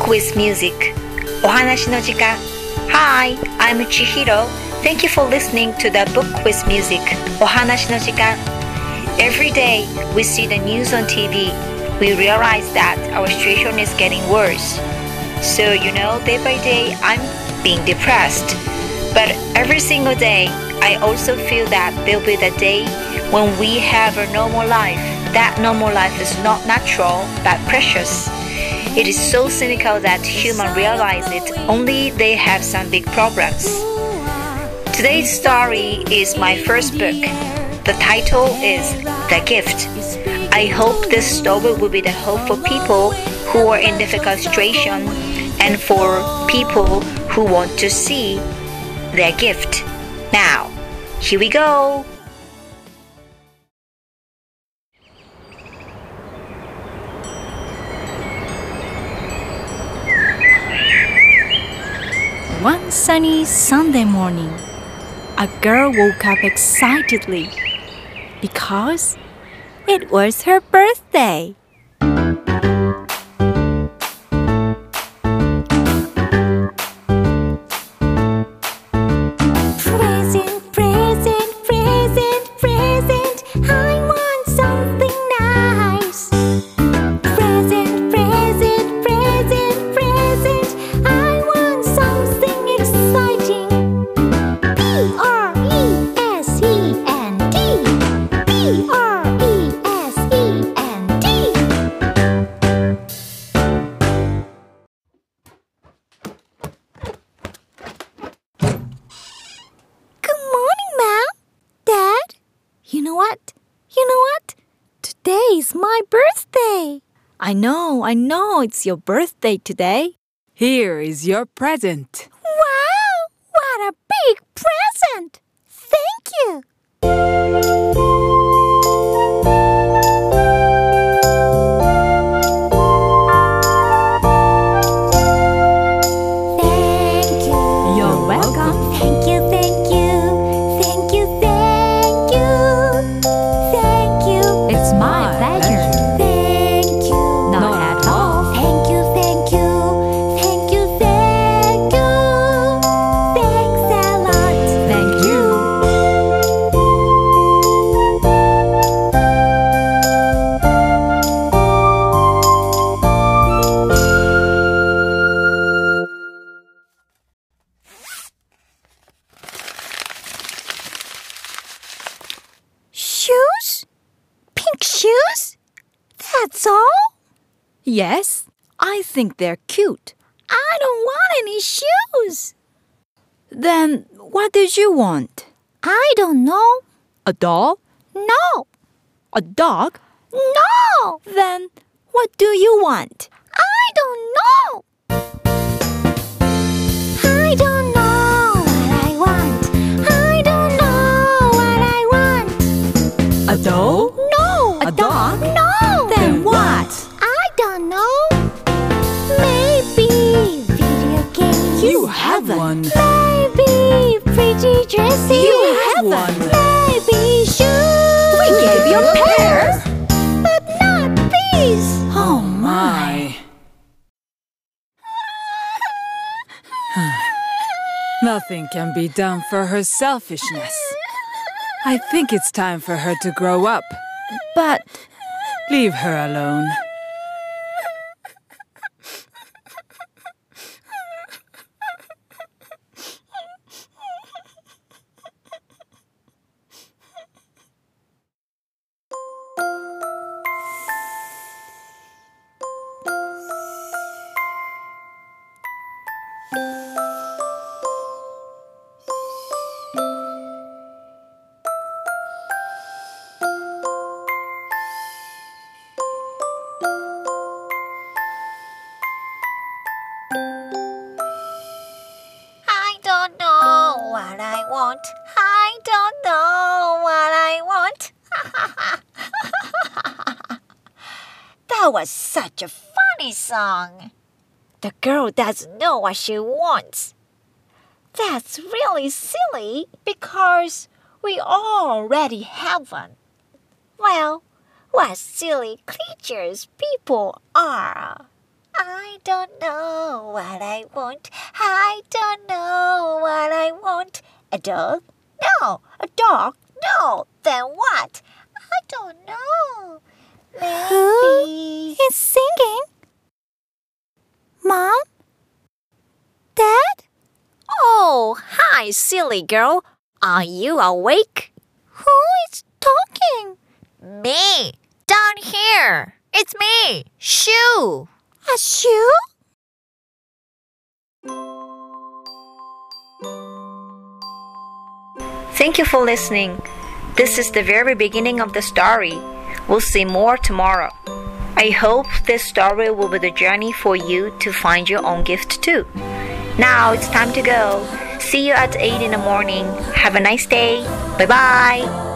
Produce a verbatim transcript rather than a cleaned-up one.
with Music お話の時間 Hi, I'm Chihiro. Thank you for listening to the Book with Music お話の時間 Every day we see the news on T V. We realize that our situation is getting worse. So you know, day by day I'm being depressed. But every single day I also feel that there'll be the day when we have a normal life. That normal life is not natural but precious. It is so cynical that humans realize it only they have some big problems. Today's story is my first book. The title is The Gift. I hope this story will be the hope for people who are in difficult situation and for people who want to see their gift. Now, here we go! One sunny Sunday morning, a girl woke up excitedly because it was her birthday. Present, present, present, present, I want something nice. Present, present, present, present, I want something exciting. B R E S E N D, B R E S E N D. Good morning, Mom. Dad? You know what? You know what? Today is my birthday. I know, I know it's your birthday today. Here is your present. Wow! What a big present! Thank you! Thank you. You're welcome. Thank you, thank you. Thank you, thank you. Thank you. It's my pleasure. Thank you. Not at all. Thank you, thank you. Thank you, thank you. Thanks a lot. Thank you. Shoes? Pink shoes? That's all? Yes, I think they're cute. I don't want any shoes. Then what did you want? I don't know. A doll? No. A dog? No. Then what do you want? I don't know. I don't know what I want. I don't know what I want. A doll? No. A dog? No. Then what? I don't know. Maybe video games. You have one. Maybe pretty dresses. You have one. Maybe shoes. We gave you a pair. But not these. Oh My. Nothing can be done for her selfishness. I think it's time for her to grow up. But Leave her alone. I don't know what I want. I don't know what I want. That was such a funny song. The girl doesn't know what she wants. That's really silly because we already have one. Well, what silly creatures people are. I don't know what I want. I don't know what I want. A dog? No. A dog? No. Then what? I don't know. Maybe. Who is singing? Mom? Dad? Oh, hi, silly girl. Are you awake? Who is talking? Me. Down here. It's me, Shoo. A shoe? Thank you for listening. This is the very beginning of the story. We'll see more tomorrow. I hope this story will be the journey for you to find your own gift too. Now it's time to go. See you at eight in the morning. Have a nice day. Bye bye.